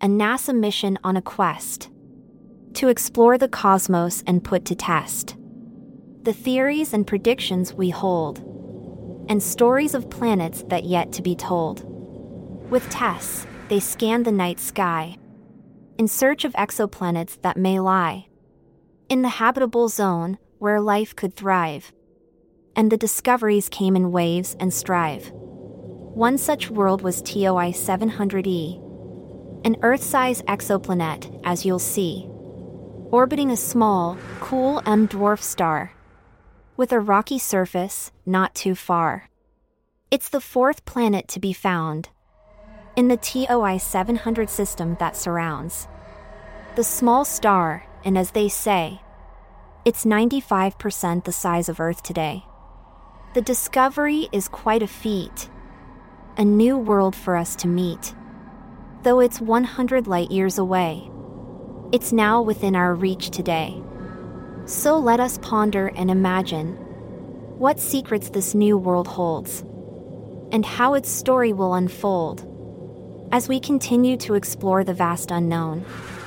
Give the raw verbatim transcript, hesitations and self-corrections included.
a NASA mission on a quest to explore the cosmos and put to test the theories and predictions we hold, and stories of planets that yet to be told. With Tess, they scan the night sky in search of exoplanets that may lie in the habitable zone where life could thrive. And the discoveries came in waves and strive. One such world was T O I seven hundred E, an Earth-size exoplanet, as you'll see, orbiting a small, cool M-dwarf star with a rocky surface not too far. It's the fourth planet to be found in the T O I seven hundred system that surrounds the small star, and as they say, it's ninety-five percent the size of Earth today. The discovery is quite a feat, a new world for us to meet. Though it's one hundred light-years away, it's now within our reach today. So let us ponder and imagine what secrets this new world holds, and how its story will unfold as we continue to explore the vast unknown.